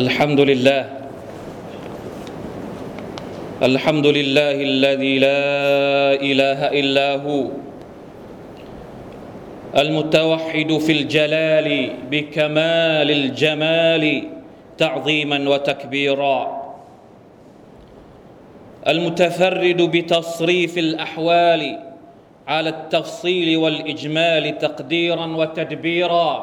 الحمد لله الحمد لله الذي لا إله إلا هو المتوحد في الجلال بكمال الجمال تعظيما وتكبيرا المتفرد بتصريف الأحوال على التفصيل والإجمال تقديرا وتدبيرا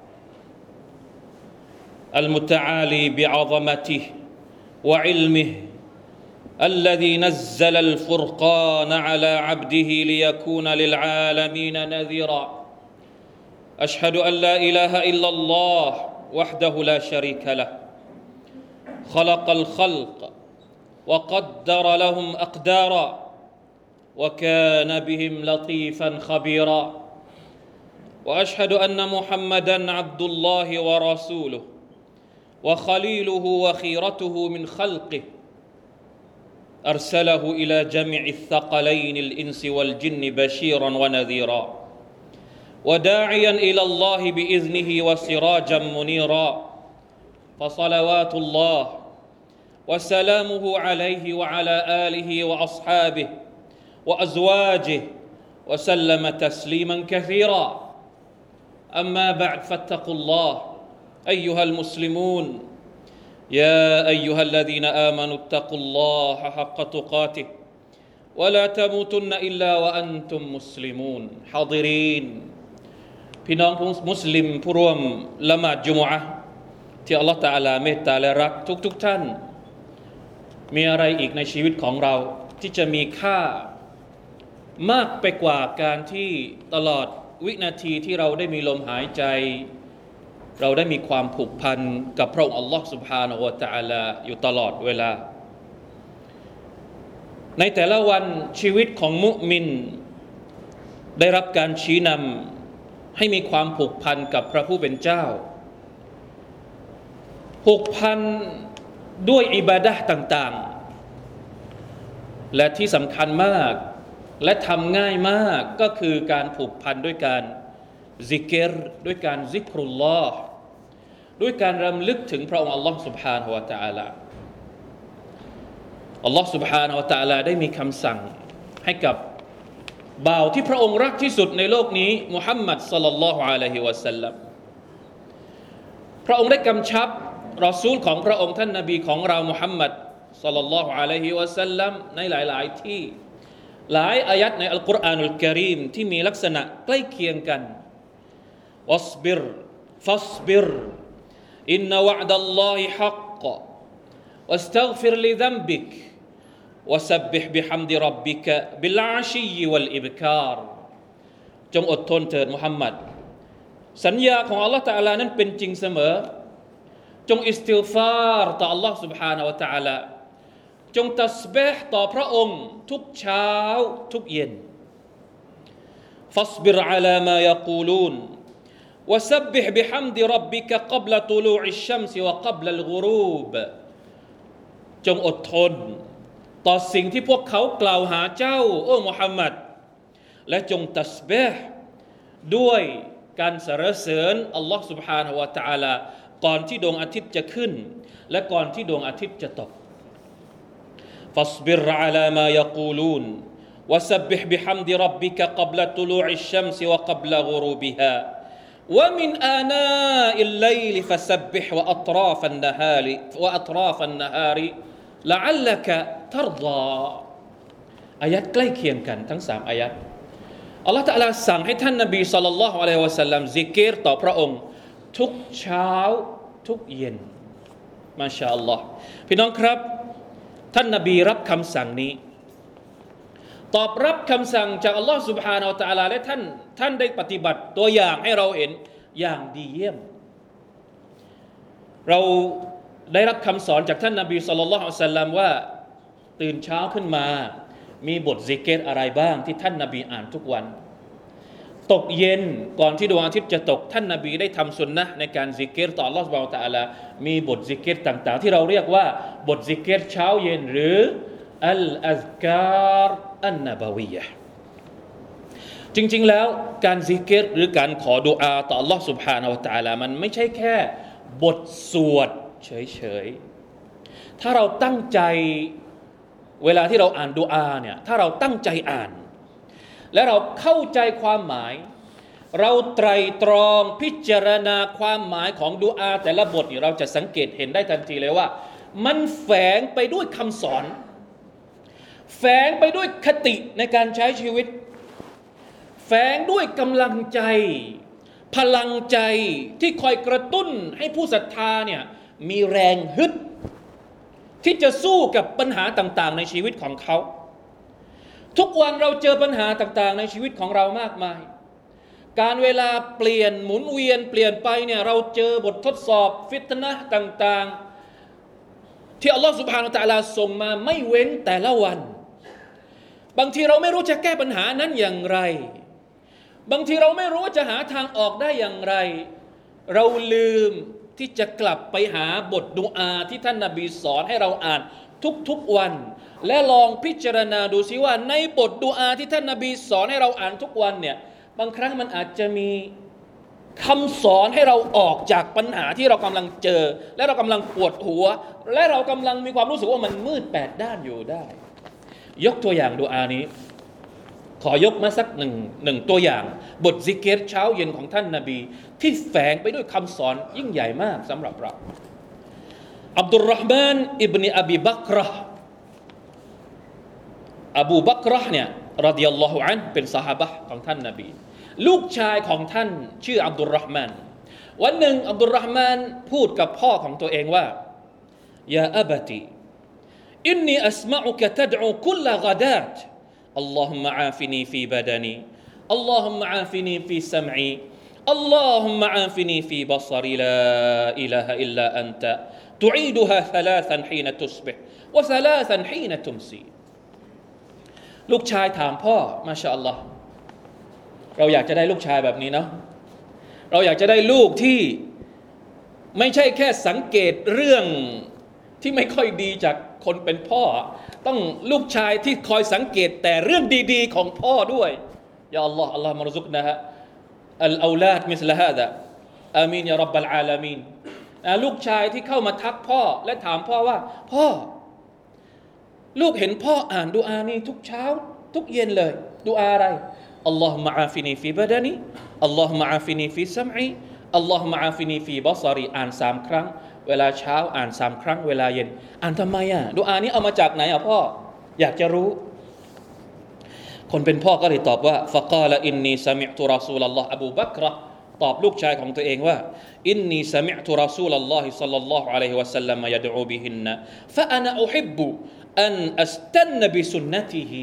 المتعالي بعظمته وعلمه الذي نزل الفرقان على عبده ليكون للعالمين نذيرا أشهد أن لا إله إلا الله وحده لا شريك له خلق الخلق وقدر لهم أقدارا وكان بهم لطيفا خبيرا وأشهد أن محمدًا عبد الله ورسوله وخليله وخيرته من خلقه أرسله إلى جميع الثقلين الإنس والجن بشيرا ونذيرا وداعيا إلى الله بإذنه وسراجا منيرا فصلوات الله وسلامه عليه وعلى آله وأصحابه وأزواجه وسلم تسليما كثيرا أما بعد فاتقوا الله أيها المسلمون يا أيها الذين آمنوا اتقوا الله حق تقاته ولا تموتن إلا وأنتم مسلمون حاضرين พี่น้องมุสลิมผู้ร่วมละหมาดจุมอะห์ที่อัลเลาะห์ตะอาลาเมตตาและรักทุกท่านมีอะไรอีกในชีวิตของเราที่จะมีค่ามากไปกว่าการที่ตลอดวินาทีที่เราได้มีลมหายใจเราได้มีความผูกพันกับพระองค์อัลลอฮ์ سبحانه และ تعالى อยู่ตลอดเวลาในแต่ละวันชีวิตของมุมินได้รับการชี้นำให้มีความผูกพันกับพระผู้เป็นเจ้าผูกพันด้วยอิบาดะห์ต่างๆและที่สำคัญมากและทำง่ายมากก็คือการผูกพันด้วยการซิกรด้วยการซิกรุลลอฮ์ด้วยการรำลึกถึงพระองค์อัลลอฮ์ سبحانه และ تعالى อัลลอฮ์ سبحانه และ تعالى ได้มีคำสั่งให้กับบ่าวที่พระองค์รักที่สุดในโลกนี้มุฮัมมัดศ็อลลัลลอฮุอะลัยฮิวะซัลลัมพระองค์ได้กำชับรอซูลของพระองค์ท่านนบีของเรามุฮัมมัดศ็อลลัลลอฮุอะลัยฮิวะซัลลัมในหลายๆที่หลายอายัดในอัลกุรอานุลกะรีมที่มีลักษณะใกล้เคียงกันวัศบิรฟัศบิรอินนะวะอ์ดัลลอฮิฮักกะวัสตัฆฟิรลิซัมบิกวะซับบิฮบิฮัมดิร็อบบิกะบิลอาชียวัลอิบคาร์จงอดทนเถิดมุฮัมมัดสัญญาของอัลเลาะห์ตะอาลานั้นเป็นจริงเสมอจงอิสติฆฟารต่ออัลเลาะห์ سبحانه และ تعالى จงตัสบีฮต่อพระองค์ทุกเช้าทุกเย็นฟัศบิรอะลามายักูลูนวะซับบิฮบิฮัมดิร็อบบิกะกับละตุลูอิชชัมซิวะกับละลกุรูบจงอดทนต่อสิ่งที่พวกเขากล่าวหาเจ้าโอ้มุฮัมมัดและจงตัสบีฮด้วยการสรรเสริญอัลลอฮ์ سبحانه และ تعالى ก่อนที่ดวงอาทิตย์จะขึ้นและก่อนที่ดวงอาทิตย์จะตกفاصبر على ما يقولون وسبح بحمد ربك قبل طلوع الشمس وقبل غروبها ومن آناء الليل فسبح وأطراف النهار لعلك ترضى อายัดใกล้เคียงกันทั้ง3อายัดอัลเลาะห์ตะอาลาสั่งให้ท่านนบีศ็อลลัลลอฮุอะลัยฮิวะซัลลัมซิกรต่อพระองค์ทุกเช้าทุกเย็นมาชาอัลลอฮ์พี่น้องครับท่านนบีรับคำสั่งนี้ตอบรับคำสั่งจากอัลลอฮ์ سبحانه และ تعالى และท่านได้ปฏิบัติตัวอย่างให้เราเห็นอย่างดีเยี่ยมเราได้รับคำสอนจากท่านนบีศ็อลลัลลอฮุอะลัยฮิวะซัลลัมว่าตื่นเช้าขึ้นมามีบทซิกรอะไรบ้างที่ท่านนบีอ่านทุกวันตกเย็นก่อนที่ดวงอาทิตย์จะตกท่านนบีได้ทำสุนนะห์ในการซิกรต่ออัลเลาะห์ซุบฮานะฮูวะตะอาลามีบทซิกรต่างๆที่เราเรียกว่าบทซิกรเช้าเย็นหรืออัลอัซการอันนบะวียะห์จริงๆแล้วการซิกรหรือการขอดุอาต่ออัลเลาะห์ซุบฮานะฮูวะตะอาลามันไม่ใช่แค่บทสวดเฉยๆถ้าเราตั้งใจเวลาที่เราอ่านดุอาเนี่ยถ้าเราตั้งใจอ่านและเราเข้าใจความหมายเราไตร่ตรองพิจารณาความหมายของดุอาแต่ละบทนี่เราจะสังเกตเห็นได้ทันทีเลยว่ามันแฝงไปด้วยคำสอนแฝงไปด้วยคติในการใช้ชีวิตแฝงด้วยกำลังใจพลังใจที่คอยกระตุ้นให้ผู้ศรัทธาเนี่ยมีแรงฮึดที่จะสู้กับปัญหาต่างๆในชีวิตของเขาทุกวันเราเจอปัญหาต่างๆในชีวิตของเรามากมายการเวลาเปลี่ยนหมุนเวียนเปลี่ยนไปเนี่ยเราเจอบททดสอบฟิตนะห์ต่างๆที่อัลลอฮฺซุบฮานะฮูวะตะอาลาส่งมาไม่เว้นแต่ละวันบางทีเราไม่รู้จะแก้ปัญหานั้นอย่างไรบางทีเราไม่รู้ว่าจะหาทางออกได้อย่างไรเราลืมที่จะกลับไปหาบทดุอาที่ท่านนบีสอนให้เราอ่านทุกๆวันและลองพิจารณาดูซิว่าในบทดุอาที่ท่านนบีสอนให้เราอ่านทุกวันเนี่ยบางครั้งมันอาจจะมีคำสอนให้เราออกจากปัญหาที่เรากำลังเจอและเรากำลังปวดหัวและเรากำลังมีความรู้สึกว่ามันมืดแปดด้านอยู่ได้ยกตัวอย่างดุอานี้ขอยกมาสักหนึ่งตัวอย่างบทซิกเกตเช้าเย็นของท่านนบีที่แฝงไปด้วยคำสอนยิ่งใหญ่มากสำหรับเราอับดุลรอฮ์มานอิบนุอบีบักรอบูบักรเนี่ยรดิยัลลอฮุอันเป็นซอฮาบะห์ของท่านนบีลูกชายของท่านชื่ออับดุลรอฮ์มานวันหนึ่งอับดุลรอฮ์มานพูดกับพ่อของตัวเองว่ายาอับตีอินนีอัสมะอุกะตัดอูคุลกะดาตاللهم عافني في بدني اللهم عافني في سمعي اللهم عافني في بصري لا إله إلا أنت تعيدها ثلاثا حين تصبح وثلاثا حين تمسي ลูกชายถามพ่อมาชาอัลลอฮ์เราอยากจะได้ลูกชายแบบนี้เนาะเราอยากจะได้ลูกที่ไม่ใช่แค่สังเกตเรื่องที่ไม่ค่อยดีจากคนเป็นพ่อต้องลูกชายที่คอยสังเกตแต่เรื่องดีๆของพ่อด้วยยาอัลลอฮ์อัลลอฮ์มารซุกนะฮะอัลเอาลาดมิสลาฮาดะอามีนยารับบัลอาลามีนลูกชายที่เข้ามาทักพ่อและถามพ่อว่าพ่อลูกเห็นพ่ออ่านดุอานี้ทุกเช้าทุกเย็นเลยดุอาอะไรอัลลอฮุมะอาฟินีฟีบะดานีอัลลอฮุมะอาฟินีฟีซัมอีอัลลอฮุมะอาฟินีฟีบะศรีอ่าน3ครั้งเวลาเช้าอ่าน3ครั้งเวลาเย็นอ่านทำไมดุอานี้เอามาจากไหนพ่ออยากจะรู้คนเป็นพ่อก็เลยตอบว่าฟะกาลอินนีซะมิอ์ตุรอซูลัลลอฮ์อบูบักรตอบลูกชายของตัวเองว่าอินนีซะมิอ์ตุรอซูลัลลอฮิศ็อลลัลลอฮุอะลัยฮิวะซัลลัมยะดูบิฮินนะฟะอะนะอุฮิบบุอันอัสตันบิสุนนะติฮิ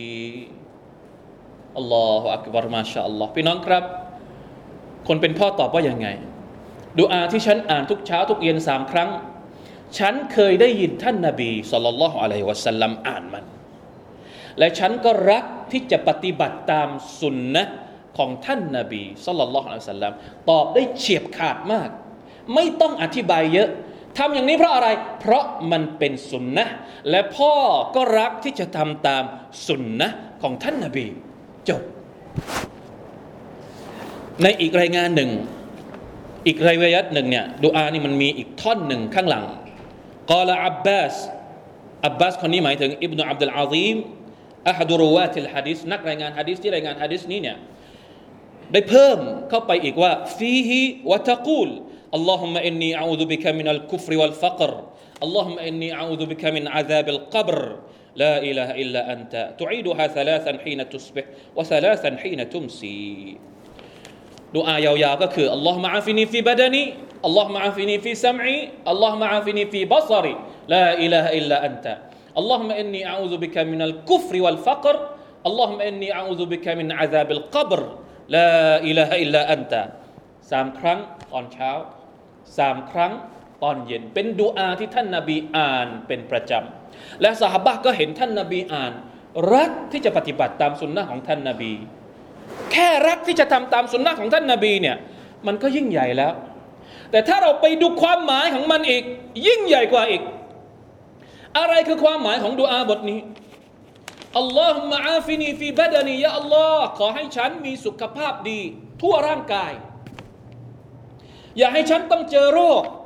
อัลลอฮุอักบัรมาชาอัลลอฮ์พี่น้องครับคนเป็นพ่อตอบว่ายังไงดุอาที่ฉันอ่านทุกเช้าทุกเย็น3ครั้งฉันเคยได้ยินท่านนบีศ็อลลัลลอฮุอะลัยฮิวะซัลลัมอ่านมันและฉันก็รักที่จะปฏิบัติตามสุนนะของท่านนบีศ็อลลัลลอฮุอะลัยฮิวะซัลลัมตอบได้เฉียบขาดมากไม่ต้องอธิบายเยอะทำอย่างนี้เพราะอะไรเพราะมันเป็นสุนนะและพ่อก็รักที่จะทำตามสุนนะของท่านนบีจบในอีกรายงานหนึ่งอีกรายยัตหนึ่งเนี่ยดุอานี่มันมีอีกท่อนหนึ่งข้างหลังกล่าวอับบาสคนนี้หมายถึงอิบนุอับดุลอาซีมอะฮัดุรุวาติลหะดีษนักรายงานหะดีษที่รายงานหะดีษนี้เนี่ยได้เพิ่มเข้าไปอีกว่าฟีฮิวะตะกูลอัลลอฮุมมะอินนีอะอูซุบิกะมินัลกุฟรวัลฟักรอัลลอฮุมมะอินนีอะอูซุบิกะมินอะซาบิลกับรลาอิลาฮะอิลลาอันตะตุอีดุฮา3 حين تصبح و3 حين تمسيดุอายาวๆก็คืออัลลอฮุมะอาฟินีฟีบะดานีอัลลอฮุมะอาฟินีฟีซัมอีอัลลอฮุมะอาฟินีฟีบัศรีลาอิลาฮะอิลลาอันตะอัลลอฮุมะอินนีอะอูซุบิกะมินัลกุฟรวัลฟักรอัลลอฮุมะอินนีอะอูซุบิกะมินอะซาบิลกับรลาอิลาฮะอิลลาอันตะ3ครั้งตอนเช้า3ครั้งตอนเย็นเป็นดุอาที่ท่านนบีอ่านเป็นประจำและซอฮาบะห์ก็เห็นท่านนบีอ่านรักที่จะปฏิบัติตามสุนนะของท่านนบีแค่รักที่จะทำตามสุนนะของท่านนบีเนี่ยมันก็ยิ่งใหญ่แล้วแต่ถ้าเราไปดูความหมายของมันอีกยิ่งใหญ่กว่าอีกอะไรคือความหมายของดุอาบทนี้อัลลอฮุมะอาฟินีฟีบะดานียะอัลลอฮ์ขอให้ฉันมีสุขภาพดีทั่วร่างกายอย่าให้ฉันต้องเจอโรค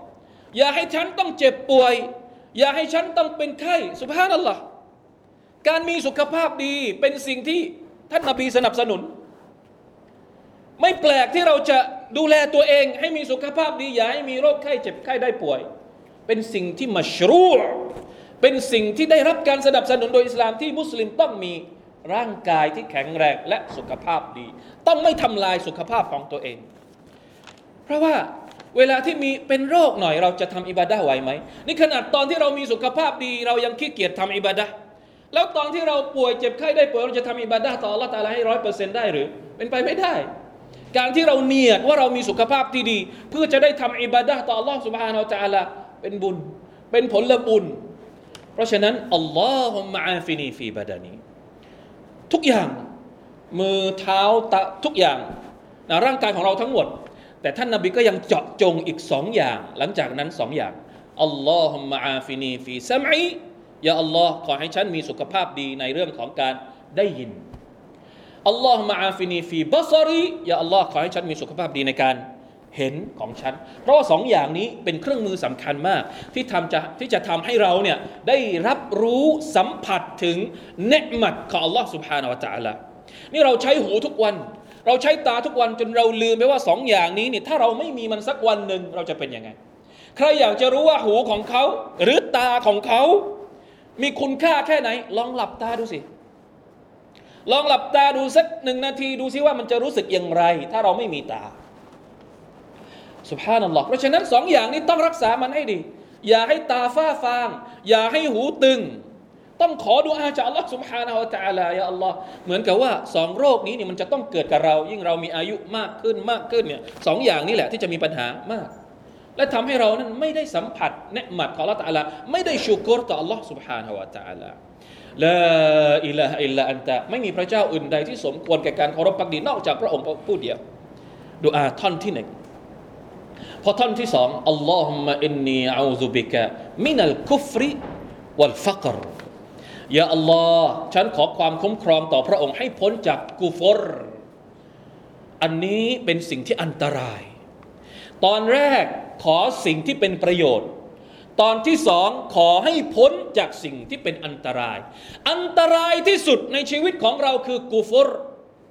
อย่าให้ฉันต้องเจ็บป่วยอย่าให้ฉันต้องเป็นไข้ซุบฮานัลลอฮ์การมีสุขภาพดีเป็นสิ่งที่ท่านนบีสนับสนุนไม่แปลกที่เราจะดูแลตัวเองให้มีสุขภาพดีอย่าให้มีโรคไข้เจ็บไข้ได้ป่วยเป็นสิ่งที่มัชรูอ์เป็นสิ่งที่ได้รับการสนับสนุนโดยอิสลามที่มุสลิมต้องมีร่างกายที่แข็งแรงและสุขภาพดีต้องไม่ทำลายสุขภาพของตัวเองเพราะว่าเวลาที่มีเป็นโรคหน่อยเราจะทำอิบาดะห์ไหวไหมนี่ขนาดตอนที่เรามีสุขภาพดีเรายังขี้เกียจทำอิบาดะห์แล้วตอนที่เราป่วยเจ็บไข้ได้ป่วยเราจะทำอิบาดะห์ต่ออัลเลาะห์ตะอาลาให้ 100% ได้หรือเป็นไปไม่ได้การที่เราเนียดว่าเรามีสุขภาพที่ดีเพื่อจะได้ทำอิบาดะห์ต่ออัลเลาะห์ซุบฮานะฮูวะตะอาลาเป็นบุญเป็นผลบุญเพราะฉะนั้นอัลลอฮุมะอาฟินีฟีบะดานีทุกอย่างมือเท้าตะทุกอย่างนะร่างกายของเราทั้งหมดแต่ท่านนบีก็ยังเจาะจงอีก2อย่างหลังจากนั้น2อย่างอัลลอฮุมะอาฟินีฟีซัมอียาอัลลอฮ์ขอให้ฉันมีสุขภาพดีในเรื่องของการได้ยินอัลลอฮุมะอาฟินีฟีบัศรียาอัลลอฮ์ขอให้ฉันมีสุขภาพดีในการเห็นของฉันเพราะว่า2อย่างนี้เป็นเครื่องมือสำคัญมากที่จะทำให้เราเนี่ยได้รับรู้สัมผัสถึงเนืมัตของอัลลอฮ์ سبحانه และ تعالى นี่เราใช้หูทุกวันเราใช้ตาทุกวันจนเราลืมไปว่า2อย่างนี้นี่ถ้าเราไม่มีมันสักวันหนึ่งเราจะเป็นยังไงใครอยากจะรู้ว่าหูของเขาหรือตาของเขามีคุณค่าแค่ไหนลองหลับตาดูสิลองหลับตาดูสัก1 นาทีดูสิว่ามันจะรู้สึกอย่างไรถ้าเราไม่มีตาซุบฮานัลลอฮ์เพราะฉะนั้น2อย่างนี้ต้องรักษามันให้ดีอย่าให้ตาฝ้าฟางอย่าให้หูตึงต้องขอดุอาจากอัลลอฮ์ซุบฮานะฮูวะตะอาลายาอัลลอฮ์เหมือนกับว่า2โรคนี้เนี่ยมันจะต้องเกิดกับเรายิ่งเรามีอายุมากขึ้นเนี่ย2อย่างนี้แหละที่จะมีปัญหามากและทำให้เรานั้นไม่ได้สัมผัสเนืมัตของอัลลอฮ์ตะอาลาไม่ได้ชุกรต่ออัลลอฮ์ซุบฮานะฮูวะตะอาลาลาอิลาฮะอิลลาอันตะไม่มีพระเจ้าอื่นใดที่สมควรแก่การเคารพภักดีนอกจากพระองค์ผู้เดียวดุอาท่อนที่1พอท่อนที่2อัลลอฮุมมะอินนีอะอูซุบิกะมินัลกุฟริวัลฟักรยาอัลลอฮ์ฉันขอความคุ้มครองต่อพระองค์ให้พ้นจากกุฟรอันนี้เป็นสิ่งที่อันตรายตอนแรกขอสิ่งที่เป็นประโยชน์ตอนที่2ขอให้พ้นจากสิ่งที่เป็นอันตรายอันตรายที่สุดในชีวิตของเราคือกุฟร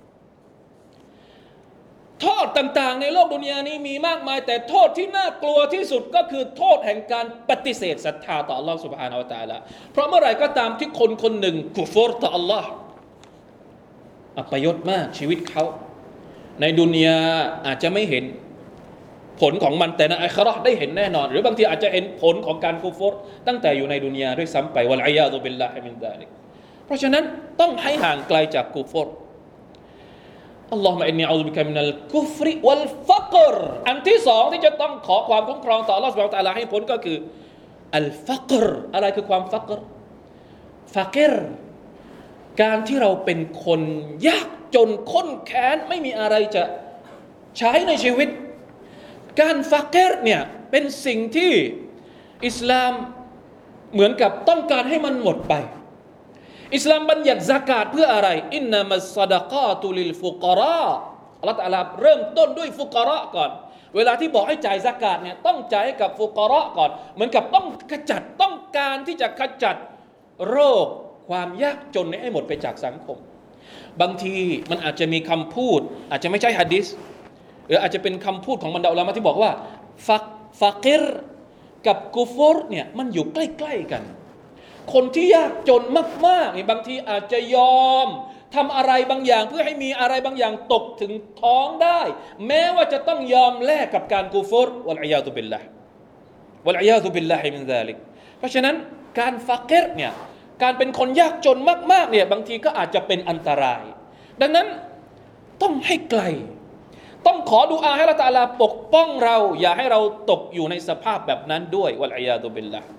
โทษต่างๆในโลกดุนยานี้มีมากมายแต่โทษที่น่ากลัวที่สุดก็คือโทษแห่งการปฏิเสธศรัทธาต่อ Allah Subhanahu Wa Taala เพราะเมื่อไหร่ก็ตามที่คนหนึ่งกุฟรต่อ Allah อัปยศมากชีวิตเขาในดุนยาอาจจะไม่เห็นผลของมันแต่ในอาคิเราะห์ได้เห็นแน่นอนหรือบางทีอาจจะเห็นผลของการกุฟรตั้งแต่อยู่ในดุนยาด้วยซ้ำไปวัลอียาซุบิลลาฮิมินซาลิกเพราะฉะนั้นต้องให้ห่างไกลจากกุฟรอัลลอฮุมะอินนีอะอูซุบิกะมินัลกุฟริวัลฟักรอันที่2ที่จะต้องขอความคุ้มครองต่ออัลเลาะห์ซุบฮานะฮูวะตะอาลาให้พ้นก็คืออัลฟักรอะไรคือความฟักรฟักรการที่เราเป็นคนยากจนข้นแค้นไม่มีอะไรจะใช้ในชีวิตการฟักรเนี่ยเป็นสิ่งที่อิสลามเหมือนกับต้องการให้มันหมดไปอิสลามบัญญัติซะกาตเพื่ออะไรอินนามัสซะดะกาตุลิลฟุกะเราะห์อัลเลาะห์ตะอาลาเริ่มต้นด้วยฟุกะเราะห์ก่อนเวลาที่บอกให้จ่ายซะกาตเนี่ยต้องจ่ายให้กับฟุกะเราะห์ก่อนเหมือนกับต้องการที่จะขจัดโรคความยากจนให้หมดไปจากสังคมบางทีมันอาจจะมีคำพูดอาจจะไม่ใช่หะดีษหรืออาจจะเป็นคำพูดของบรรดาอุลามะที่บอกว่าฟักรกับกุฟรเนี่ยมันอยู่ใกล้ๆกันคนที่ยากจนมากๆนี่บางทีอาจจะยอมทำอะไรบางอย่างเพื่อให้มีอะไรบางอย่างตกถึงท้องได้แม้ว่าจะต้องยอมแลกกับการกุฟรวัลอียาซุบิลลาฮ์มินซาลิกเพราะฉะนั้นการฟักรเนี่ยการเป็นคนยากจนมากๆเนี่ยบางทีก็อาจจะเป็นอันตรายดังนั้นต้องให้ไกลต้องขอดุอาให้อัลเลาะห์ตะอาลาปกป้องเราอย่าให้เราตกอยู่ในสภาพแบบนั้นด้วยวัลอียาซุบิลลาฮ์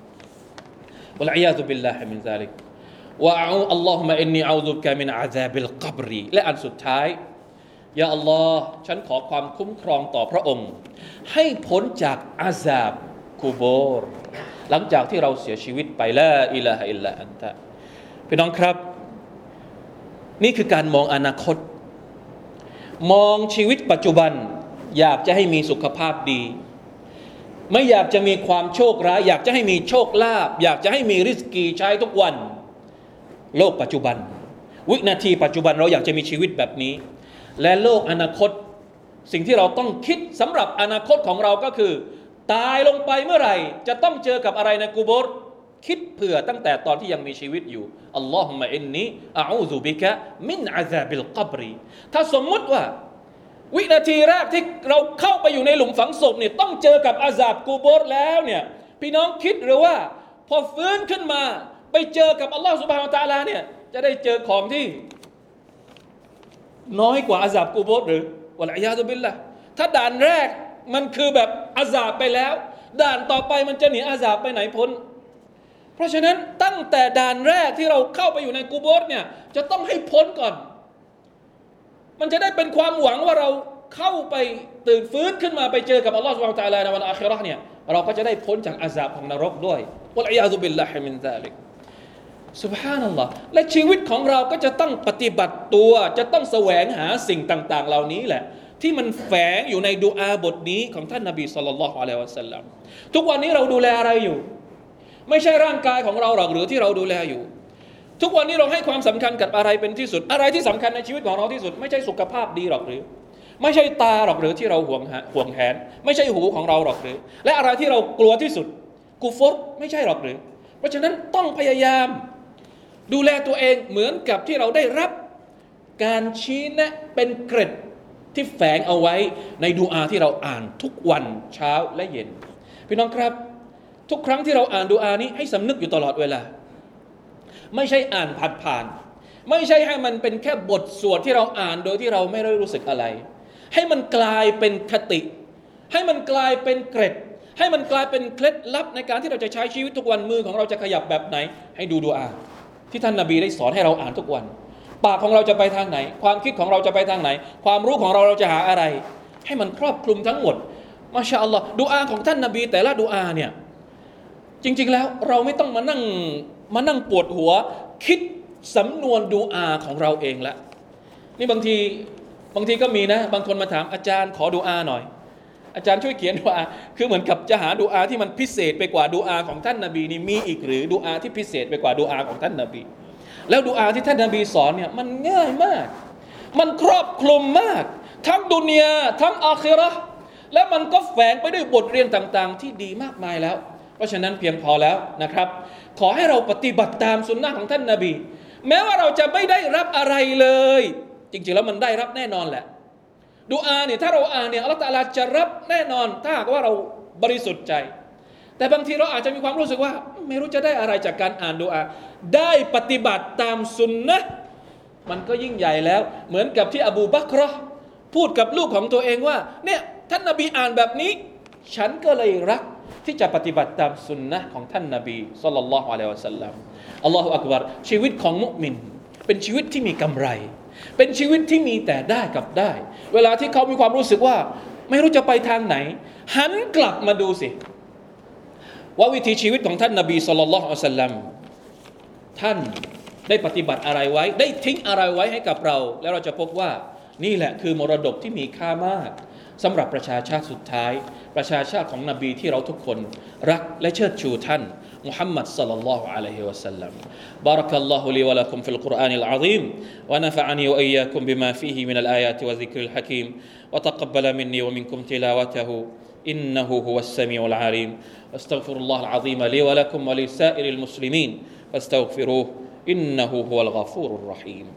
والعياذ بالله من ذلك اللهم إني أعوذ بك من عذاب القبر และอันสุดท้ายยาอัลลอฮ์ฉันขอความคุ้มครองต่อพระองค์ให้พ้นจากอาซาบกุโบรหลังจากที่เราเสียชีวิตไปลาอิลาฮะอิลลาอันตะพี่น้องครับนี่คือการมองอนาคตมองชีวิตปัจจุบันอยากจะให้มีสุขภาพดีไม่อยากจะมีความโชคร้ายอยากจะให้มีโชคลาภอยากจะให้มีริสกีใช้ทุกวันโลกปัจจุบันวินาทีปัจจุบันเราอยากจะมีชีวิตแบบนี้และโลกอนาคตสิ่งที่เราต้องคิดสำหรับอนาคตของเราก็คือตายลงไปเมื่อไหร่จะต้องเจอกับอะไรในกุโบร์คิดเผื่อตั้งแต่ตอนที่ยังมีชีวิตอยู่อัลลอฮุมะอินนีอะอูซุบิกะมินอะซาบิลกับรถ้าสมมุติว่าวินาทีแรกที่เราเข้าไปอยู่ในหลุมฝังศพเนี่ยต้องเจอกับอาซาบกูโบร์แล้วเนี่ยพี่น้องคิดหรือว่าพอฟื้นขึ้นมาไปเจอกับอัลลอฮฺซุบฮานะฮูวะตะอาลาเนี่ยจะได้เจอของที่น้อยกว่าอาซาบกูโบร์หรือวะลัยยาซุบิลละถ้าด่านแรกมันคือแบบอาซาบไปแล้วด่านต่อไปมันจะหนีอาซาบไปไหนพ้นเพราะฉะนั้นตั้งแต่ด่านแรกที่เราเข้าไปอยู่ในกูโบร์เนี่ยจะต้องให้พ้นก่อนมันจะได้เป็นความหวังว่าเราเข้าไปตื่นฟื้นขึ้นมาไปเจอกับอัลลอฮฺซุบฮานะฮูวะตะอาลาในวันอาคิเราะห์เนี่ยเราก็จะได้พ้นจากอาซาบของนรกด้วยวะลัยยาซุบิลลาฮิมินซาลิกซุบฮานัลลอฮ์และชีวิตของเราก็จะต้องปฏิบัติตัวจะต้องแสวงหาสิ่งต่างๆเหล่านี้แหละที่มันแฝงอยู่ในดุอาบทนี้ของท่านนบีศ็อลลัลลอฮุอะลัยฮิวะซัลลัมทุกวันนี้เราดูแลอะไรอยู่ไม่ใช่ร่างกายของเราหรอกหรือที่เราดูแลอยู่ทุกวันนี้เราให้ความสำคัญกับอะไรเป็นที่สุดอะไรที่สำคัญในชีวิตของเราที่สุดไม่ใช่สุขภาพดีหรอกหรือไม่ใช่ตาหรอกหรือที่เราห่วงแหนไม่ใช่หูของเราหรอกหรือและอะไรที่เรากลัวที่สุดกุฟรไม่ใช่หรอกหรือเพราะฉะนั้นต้องพยายามดูแลตัวเองเหมือนกับที่เราได้รับการชี้แนะเป็นเกร็ดที่แฝงเอาไว้ในดุอาที่เราอ่านทุกวันเช้าและเย็นพี่น้องครับทุกครั้งที่เราอ่านดุอานี้ให้สำนึกอยู่ตลอดเวลาไม่ใช่อ่านผ่านๆไม่ใช่ให้มันเป็นแค่บทสวดที่เราอ่านโดยที่เราไม่ได้รู้สึกอะไรให้มันกลายเป็นคติให้มันกลายเป็นเกร็ดให้มันกลายเป็นเคล็ดลับในการที่เราจะใช้ชีวิตทุกวันมือของเราจะขยับแบบไหนให้ดูดุอาที่ท่านนบีได้สอนให้เราอ่านทุกวันปากของเราจะไปทางไหนความคิดของเราจะไปทางไหนความรู้ของเราจะหาอะไรให้มันครอบคลุมทั้งหมดมาชาอัลลอฮ์ดุอาของท่านนบีแต่ละดุอาเนี่ยจริงๆแล้วเราไม่ต้องมานั่งปวดหัวคิดสำนวนดุอาของเราเองละนี่บางทีก็มีนะบางคนมาถามอาจารย์ขอดุอาหน่อยอาจารย์ช่วยเขียนดุอาคือเหมือนกับจะหาดุอาที่มันพิเศษไปกว่าดุอาของท่านนบีนี่มีอีกหรือดุอาที่พิเศษไปกว่าดุอาของท่านนบีแล้วดุอาที่ท่านนบีสอนเนี่ยมันง่ายมากมันครอบคลุมมากทั้งดุนยาทั้งอาคิเราะห์และมันก็แฝงไปด้วยบทเรียนต่างๆที่ดีมากมายแล้วเพราะฉะนั้นเพียงพอแล้วนะครับขอให้เราปฏิบัติตามสุนนะของท่านนบีแม้ว่าเราจะไม่ได้รับอะไรเลยจริงๆแล้วมันได้รับแน่นอนแหละดุอาเนี่ยถ้าเราอ่านเนี่ยอัลเลาะห์ตะอาลาจะรับแน่นอนถ้าหากว่าเราบริสุทธิ์ใจแต่บางทีเราอาจจะมีความรู้สึกว่าไม่รู้จะได้อะไรจากการอ่านดุอาได้ปฏิบัติตามสุนนะมันก็ยิ่งใหญ่แล้วเหมือนกับที่อบูบักรพูดกับลูกของตัวเองว่าเนี่ยท่านนบีอ่านแบบนี้ฉันก็เลยรักที่จะปฏิบัติตามสุนนะของท่านนบีศ็อลลัลลอฮุอะลัยฮิวะซัลลัมอัลลอฮุอักบัรชีวิตของมุมินเป็นชีวิตที่มีกำไรเป็นชีวิตที่มีแต่ได้กับได้เวลาที่เขามีความรู้สึกว่าไม่รู้จะไปทางไหนหันกลับมาดูสิว่าวิถีชีวิตของท่านนบีศ็อลลัลลอฮุอะลัยฮิวะซัลลัมท่านได้ปฏิบัติอะไรไว้ได้ทิ้งอะไรไว้ให้กับเราแล้วเราจะพบว่านี่แหละคือมรดกที่มีค่ามากสำหรับประชาชาติสุดท้ายประชาชาติของนบีที่เราทุกคนรักและเชิดชูท่านมุฮัมมัดศ็อลลัลลอฮุอะลัยฮิวะซัลลัมบารักัลลอฮุลีวะละกุมฟิลกุรอานิลอะซีมวะนะฟะอะนีวะอียากุมบิมาฟีฮิมินัลอายาติวะซิกริลฮะกีมวะตะกับบะละมินนีวะมินกุมติลาวะตะฮูอินนะฮูฮุวัสซะมีอุลอะลีมอัสตัฆฟิรุลลอฮุลอะซีมลีวะละกุมวะลิซาอิริลมุสลิมีนฟัสตัฆฟิรูฮุอินนะฮูฮุวัลฆอฟูรุรเราะฮีม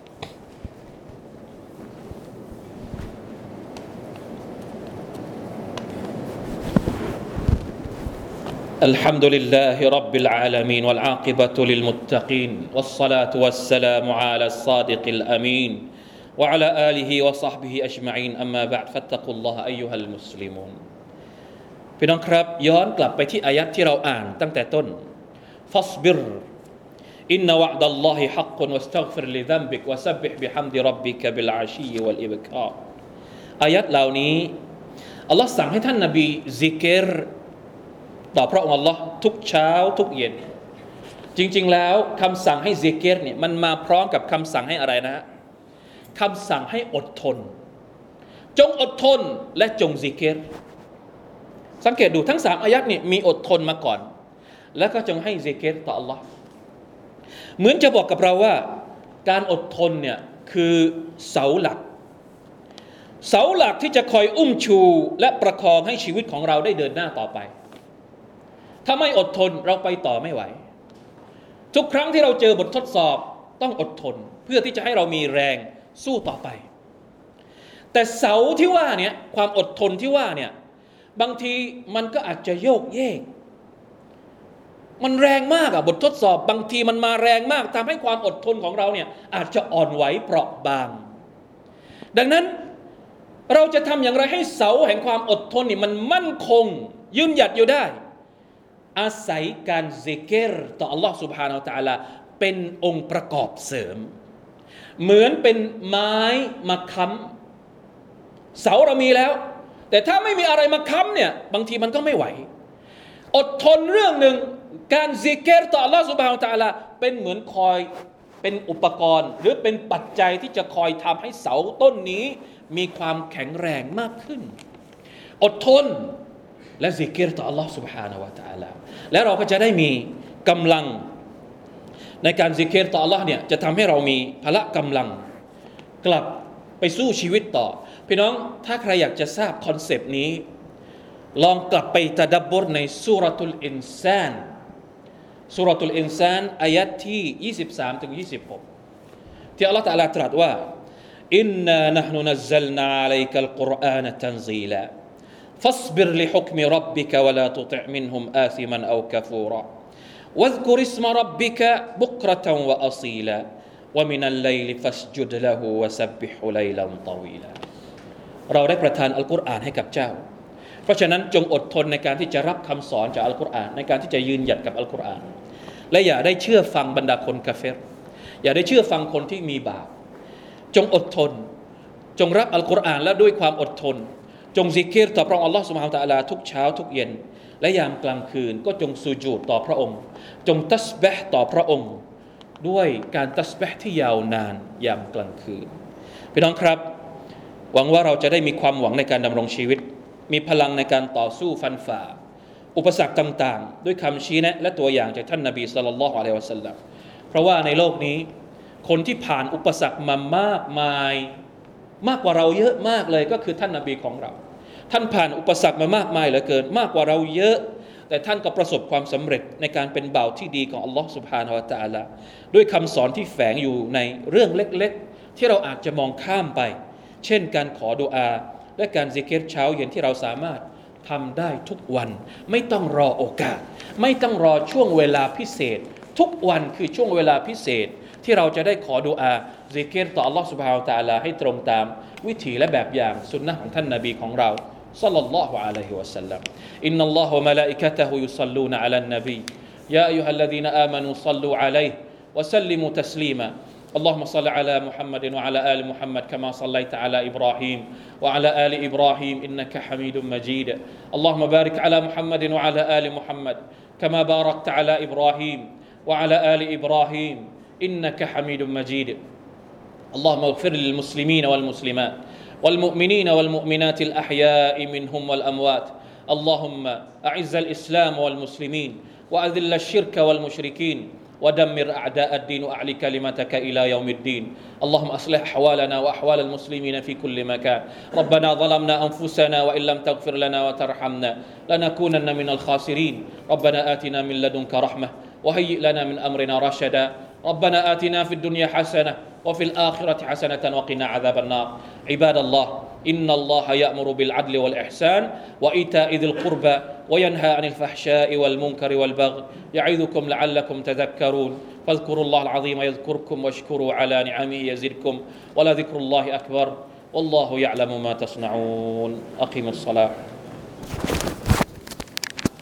الحمد لله رب العالمين والعاقبة للمتقين والصلاة والسلام على الصادق الأمين وعلى آله وصحبه أجمعين أما بعد فاتقوا الله أيها المسلمون พี่น้องครับย้อนกลับไปที่อายัดที่เราอ่านตั้งแต่ต้น فاصبر إن وعد الله حق واستغفر لذنبك وسبح بحمد ربك بالعشي والإبكار อายัดเหล่านี้อัลลอฮ์สั่งให้ท่านนบีซิกรต่อพระองค์อัลลอฮ์ทุกเช้าทุกเย็นจริงๆแล้วคำสั่งให้ซิกรเนี่ยมันมาพร้อมกับคำสั่งให้อะไรนะคำสั่งให้อดทนจงอดทนและจงซิกรสังเกตดูทั้ง3อายัดนี่มีอดทนมาก่อนแล้วก็จงให้ซิกรต่อ Allah เหมือนจะบอกกับเราว่าการอดทนเนี่ยคือเสาหลักที่จะคอยอุ้มชูและประคองให้ชีวิตของเราได้เดินหน้าต่อไปถ้าไม่อดทนเราไปต่อไม่ไหวทุกครั้งที่เราเจอบททดสอบต้องอดทนเพื่อที่จะให้เรามีแรงสู้ต่อไปแต่เสาที่ว่าเนี่ยความอดทนที่ว่าเนี่ยบางทีมันก็อาจจะโยกเยกมันแรงมากบททดสอบบางทีมันมาแรงมากทำให้ความอดทนของเราเนี่ยอาจจะอ่อนไหวเปราะบางดังนั้นเราจะทำอย่างไรให้เสาแห่งความอดทนนี่มันมั่นคงยืนหยัดอยู่ได้อาศัยการซิกรต่อ Allah Subhanahu Wa Taala เป็นองค์ประกอบเสริมเหมือนเป็นไม้มาค้ำเสาเรามีแล้วแต่ถ้าไม่มีอะไรมาค้ำเนี่ยบางทีมันก็ไม่ไหวอดทนเรื่องหนึ่งการซิกรต่อ Allah Subhanahu Wa Taala เป็นเหมือนคอยเป็นอุปกรณ์หรือเป็นปัจจัยที่จะคอยทำให้เสาต้นนี้มีความแข็งแรงมากขึ้นอดทนและซิกรต่อ Allah Subhanahu Wa Taala แล้วเราก็จะได้มีกำลังในการซิกรต่อ Allah เนี่ยจะทำให้เรามีพละกำลังกลับไปสู้ชีวิตต่อพี่น้องถ้าใครอยากจะทราบคอนเซปต์นี้ลองกลับไปตะดับบรในซูเราะตุลอินซานซูเราะตุลอินซานอายะห์ที่23ถึง26ที่อัลเลาะห์ตะอาลาตรัสว่าอินนานะห์นุนัซซัลนาอะลัยกัลกุรอานะตันซีลาفاصبر لحكم ربك ولا تطع منهم آثما أو كفورا واذكر اسم ربك بكرة وأصيلا ومن الليل فاسجد له وسبح ليلا طويلا เราได้ประทานอัลกุรอานให้กับเจ้าเพราะฉะนั้นจงอดทนในการที่จะรับคำสอนจากอัลกุรอานในการที่จะยืนหยัดกับอัลกุรอานและอย่าได้เชื่อฟังบรรดาคนกาเฟรอย่าได้เชื่อฟังคนที่มีบาปจงอดทนจงรับอัลกุรอานและด้วยความอดทนจงซิกรต่อพระองค์อัลลอฮฺซุบฮานะฮูวะตะอาลาทุกเช้าทุกเย็นและยามกลางคืนก็จงสุญูดต่อพระองค์จงตัสบิฮ์ต่อพระองค์ด้วยการตัสบิฮ์ที่ยาวนานยามกลางคืนพี่น้องครับหวังว่าเราจะได้มีความหวังในการดำรงชีวิตมีพลังในการต่อสู้ฟันฝ่าอุปสรรคต่างๆด้วยคำชี้แนะและตัวอย่างจากท่านนบีศ็อลลัลลอฮุอะลัยฮิวะซัลลัมเพราะว่าในโลกนี้คนที่ผ่านอุปสรรคมามากมายมากกว่าเราเยอะมากเลยก็คือท่านนบีของเราท่านผ่านอุปสรรคมามากมายเหลือเกินมากกว่าเราเยอะแต่ท่านก็ประสบความสำเร็จในการเป็นบ่าวที่ดีของอัลลอฮฺซุบฮานะฮูวะตะอาลาด้วยคำสอนที่แฝงอยู่ในเรื่องเล็กๆที่เราอาจจะมองข้ามไปเช่นการขอดุอาและการซิกรเช้าเย็นที่เราสามารถทำได้ทุกวันไม่ต้องรอโอกาสไม่ต้องรอช่วงเวลาพิเศษทุกวันคือช่วงเวลาพิเศษที่เราจะได้ขอดุอาซิกรต่อ Allah Subhanahu Wa Taala ให้ตรงตามวิถีและแบบอย่างสุนนะของท่านนบีของเราศ็อลลัลลอฮุอะลัยฮิวะซัลลัมอินนัลลอฮะวะมะลาอิกะตุฮุยุศ็อลลูนะอะลันนบียาอัยยูฮัลลซีนาอามานูศ็อลลูอะลัยฮิวะซัลลิมูตัสลีมาاللهم صل على محمد وعلى آل محمد كما صليت على إبراهيم وعلى آل إبراهيم إنك حميد مجيد اللهم بارك على محمد وعلى آل محمد كما باركت على إبراهيم وعلى آل إبراهيم إنك حميد مجيد اللهم اغفر للمسلمين والمسلمات والمؤمنين والمؤمنات الأحياء منهم والأموات اللهم أعز الإسلام والمسلمين وأذل الشرك والمشركين ودمر أعداء الدين وأعل كلمتك إلى يوم الدين اللهم أصلح أحوالنا وأحوال المسلمين في كل مكان ربنا ظلمنا أنفسنا وإن لم تغفر لنا وترحمنا لنكونن من الخاسرين ربنا آتنا من لدنك رحمة وهيئ لنا من أمرنا رشدا ربنا آتنا في الدنيا حسنة وفي الآخرة حسنة وقنا عذاب النار عباد الله إن الله يأمر بالعدل والإحسان وإيتاء ذي القربى وينهى عن الفحشاء والمنكر والبغي يعظكم لعلكم تذكرون فاذكروا الله العظيم يذكركم واشكروا على نعمه يزدكم ولذكر الله أكبر والله يعلم ما تصنعون أقيموا الصلاة